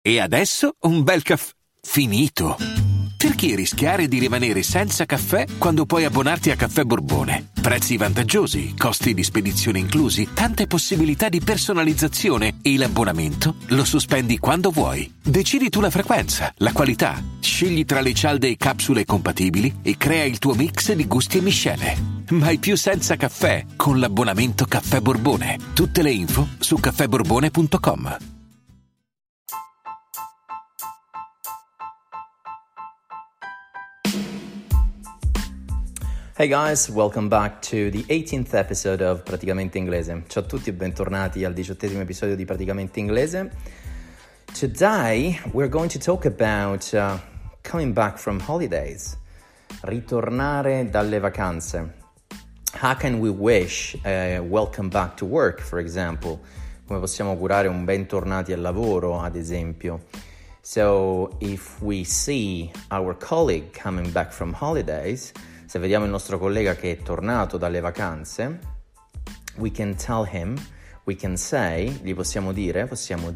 E adesso un bel caffè finito. Perché rischiare di rimanere senza caffè quando puoi abbonarti a Caffè Borbone? Prezzi vantaggiosi, costi di spedizione inclusi, tante possibilità di personalizzazione e l'abbonamento lo sospendi quando vuoi. Decidi tu la frequenza, la qualità, scegli tra le cialde e capsule compatibili e crea il tuo mix di gusti e miscele. Mai più senza caffè con l'abbonamento Caffè Borbone. Tutte le info su caffèborbone.com. Hey guys, welcome back to the 18th episode of Praticamente Inglese. Ciao a tutti e bentornati al 18esimo episodio di Praticamente Inglese. Today we're going to talk about coming back from holidays. Ritornare dalle vacanze. How can we wish welcome back to work, for example? Come possiamo augurare un bentornati al lavoro, ad esempio. So, if we see our colleague coming back from holidays, se vediamo il nostro collega che è tornato dalle vacanze, we can tell him, we can say, gli possiamo dire,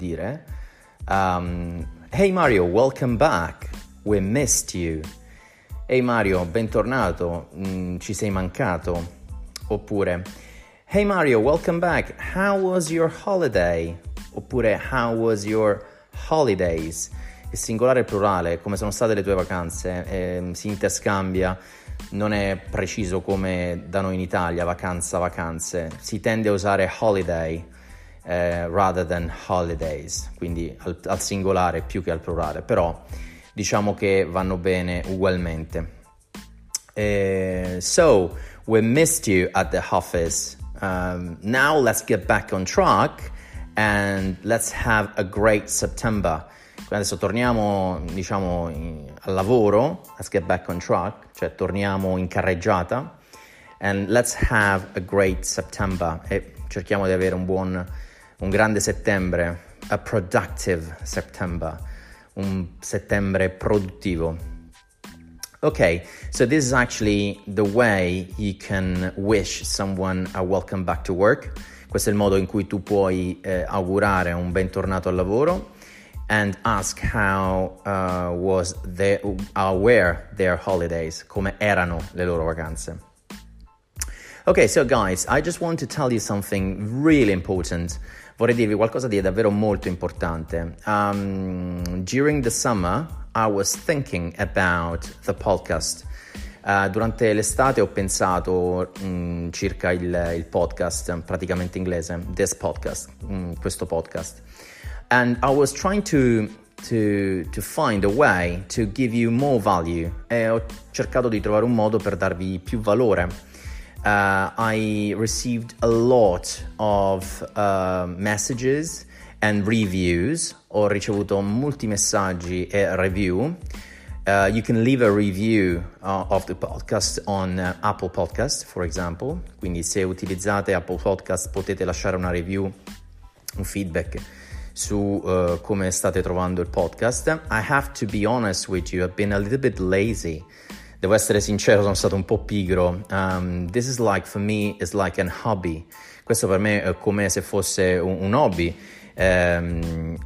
hey Mario, welcome back, we missed you. Hey Mario, bentornato, ci sei mancato. Oppure, hey Mario, welcome back, how was your holiday? Oppure, how was your holidays? Il singolare e il plurale, come sono state le tue vacanze, si interscambia. Non è preciso come da noi in Italia, vacanze. Si tende a usare holiday rather than holidays, quindi al singolare più che al plurale, però diciamo che vanno bene ugualmente. So, we missed you at the office. Now let's get back on track and let's have a great September. Adesso torniamo, al lavoro, let's get back on track, cioè torniamo in carreggiata, and let's have a great September, e cerchiamo di avere un grande settembre, a productive September, un settembre produttivo. Okay, so this is actually the way you can wish someone a welcome back to work. Questo è il modo in cui tu puoi augurare un bentornato al lavoro. And ask how were their holidays, come erano le loro vacanze. Okay, so guys, I just want to tell you something really important. Vorrei dirvi qualcosa di davvero molto importante. During the summer, I was thinking about the podcast. Durante l'estate ho pensato circa il podcast, praticamente inglese, this podcast, questo podcast. And I was trying to find a way to give you more value. E ho cercato di trovare un modo per darvi più valore. I received a lot of messages and reviews. Ho ricevuto molti messaggi e review. You can leave a review of the podcast on Apple Podcast, for example. Quindi se utilizzate Apple Podcast potete lasciare una review, un feedback su come state trovando il podcast. I have to be honest with you, I've been a little bit lazy. Devo essere sincero, sono stato un po' pigro. This is like, for me, is like an hobby. Questo per me è come se fosse un hobby. And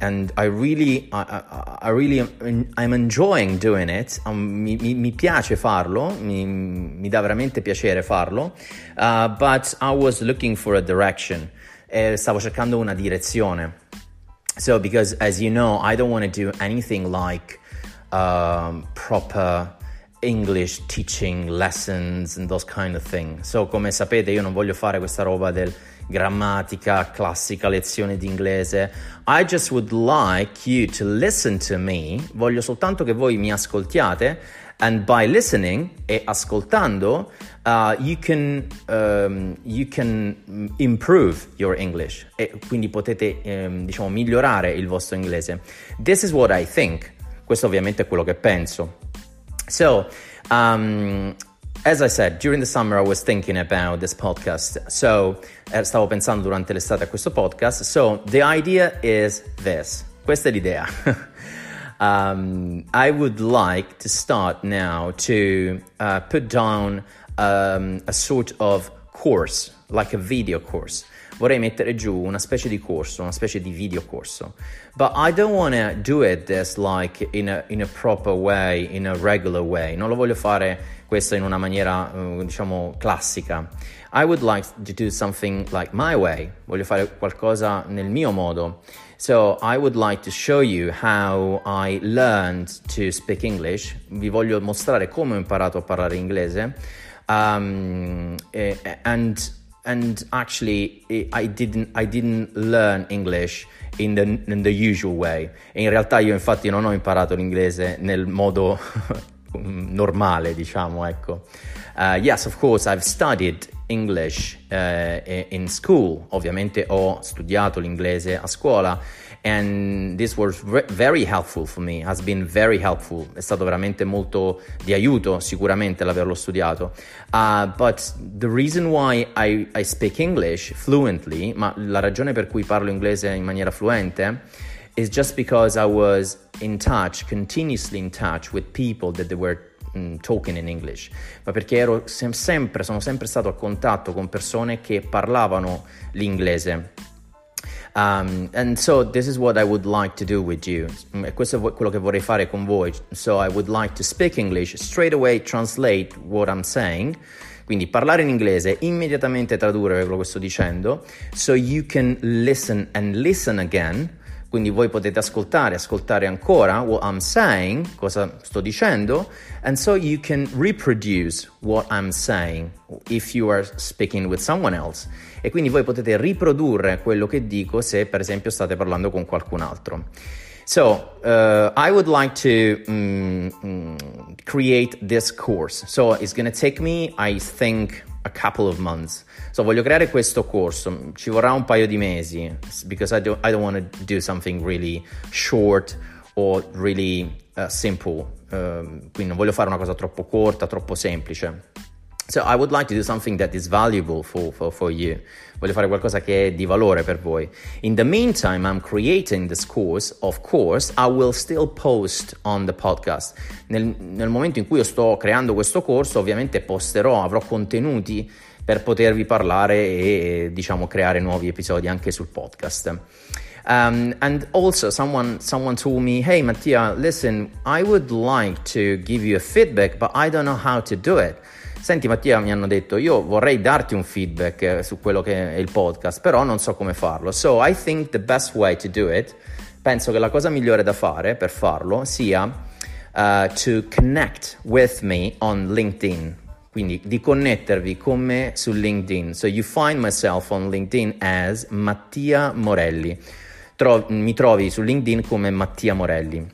I'm enjoying doing it. Mi piace farlo, mi dà veramente piacere farlo. But I was looking for a direction. Stavo cercando una direzione. So, because as you know, I don't want to do anything like proper English teaching lessons and those kind of things. So, come sapete, io non voglio fare questa roba del grammatica, classica, lezione di inglese. I just would like you to listen to me. Voglio soltanto che voi mi ascoltiate. And by listening e ascoltando, you can improve your English. E quindi potete, migliorare il vostro inglese. This is what I think. Questo ovviamente è quello che penso. So, as I said, during the summer I was thinking about this podcast. So, stavo pensando durante l'estate a questo podcast. So, the idea is this. Questa è l'idea. I would like to start now to put down a sort of course, like a video course. vorrei mettere giù una specie di corso, una specie di video corso. But I don't want to do it this like in a proper way, in a regular way. Non lo voglio fare questo in una maniera, diciamo, classica. I would like to do something like my way. Voglio fare qualcosa nel mio modo. So I would like to show you how I learned to speak English. Vi voglio mostrare come ho imparato a parlare inglese. And actually I didn't learn English in the usual way. E in realtà io infatti non ho imparato l'inglese nel modo normale, diciamo, ecco. Yes, of course, I've studied English in school. Ovviamente ho studiato l'inglese a scuola, and this was very helpful for me, has been very helpful. È stato veramente molto di aiuto sicuramente l'averlo studiato. But the reason why I speak English fluently, ma la ragione per cui parlo inglese in maniera fluente, is just because I was continuously in touch with people that they were talking in English, ma perché sono sempre stato a contatto con persone che parlavano l'inglese. And so this is what I would like to do with you. Questo è quello che vorrei fare con voi. So I would like to speak English, straight away translate what I'm saying. Quindi parlare in inglese, immediatamente tradurre quello che sto dicendo, so you can listen and listen again. Quindi voi potete ascoltare ancora what I'm saying, cosa sto dicendo, and so you can reproduce what I'm saying if you are speaking with someone else. E quindi voi potete riprodurre quello che dico se per esempio state parlando con qualcun altro. So, I would like to create this course. So, it's going to take me, I think, a couple of months. So, voglio creare questo corso. Ci vorrà un paio di mesi, because I don't want to do something really short or really simple. Quindi non voglio fare una cosa troppo corta, troppo semplice. So I would like to do something that is valuable for you. Voglio fare qualcosa che è di valore per voi. In the meantime, I'm creating this course. Of course, I will still post on the podcast. Nel momento in cui io sto creando questo corso, ovviamente avrò contenuti per potervi parlare e diciamo creare nuovi episodi anche sul podcast. And also someone told me, hey Mattia, listen, I would like to give you a feedback, but I don't know how to do it. Senti Mattia, mi hanno detto, io vorrei darti un feedback su quello che è il podcast, però non so come farlo. So I think the best way to do it, penso che la cosa migliore da fare per farlo sia to connect with me on LinkedIn. Quindi di connettervi con me su LinkedIn. So you find myself on LinkedIn as Mattia Morelli. Mi trovi su LinkedIn come Mattia Morelli.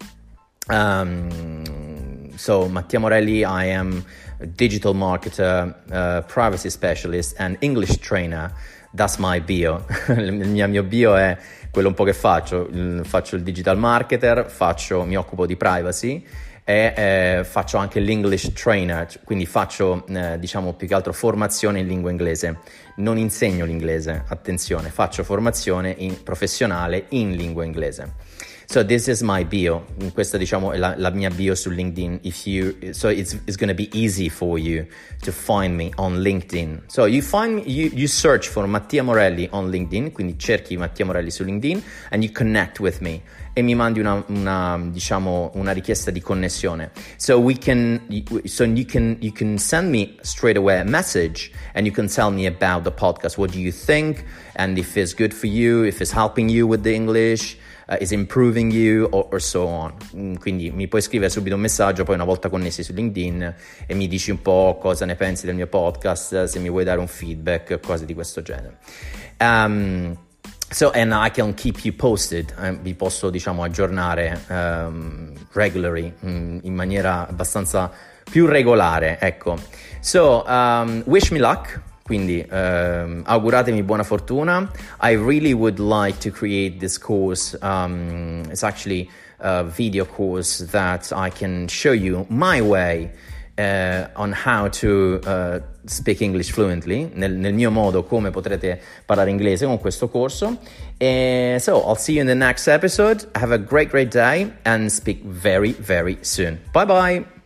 So Mattia Morelli, I am a digital marketer, privacy specialist and English trainer. That's my bio. Il mio bio è quello un po' che faccio. Faccio il digital marketer, mi occupo di privacy e faccio anche l'English trainer, quindi faccio diciamo più che altro formazione in lingua inglese. Non insegno l'inglese, attenzione, faccio formazione professionale in lingua inglese. So this is my bio. Questa diciamo è la mia bio su LinkedIn. So it's going to be easy for you to find me on LinkedIn. So you find me, you search for Mattia Morelli on LinkedIn, quindi cerchi Mattia Morelli su LinkedIn and you connect with me e mi mandi una richiesta di connessione. So you can send me straight away a message and you can tell me about the podcast. What do you think? And if it's good for you, if it's helping you with the English, is improving you or so on. Quindi mi puoi scrivere subito un messaggio, poi una volta connessi su LinkedIn, e mi dici un po' cosa ne pensi del mio podcast, se mi vuoi dare un feedback, cose di questo genere. So and I can keep you posted. Vi posso diciamo aggiornare regularly, in maniera abbastanza più regolare, ecco. So wish me luck. Quindi auguratemi buona fortuna. I really would like to create this course. It's actually a video course that I can show you my way on how to speak English fluently, nel mio modo come potrete parlare inglese con questo corso. So I'll see you in the next episode. Have a great day and speak very, very soon. Bye bye.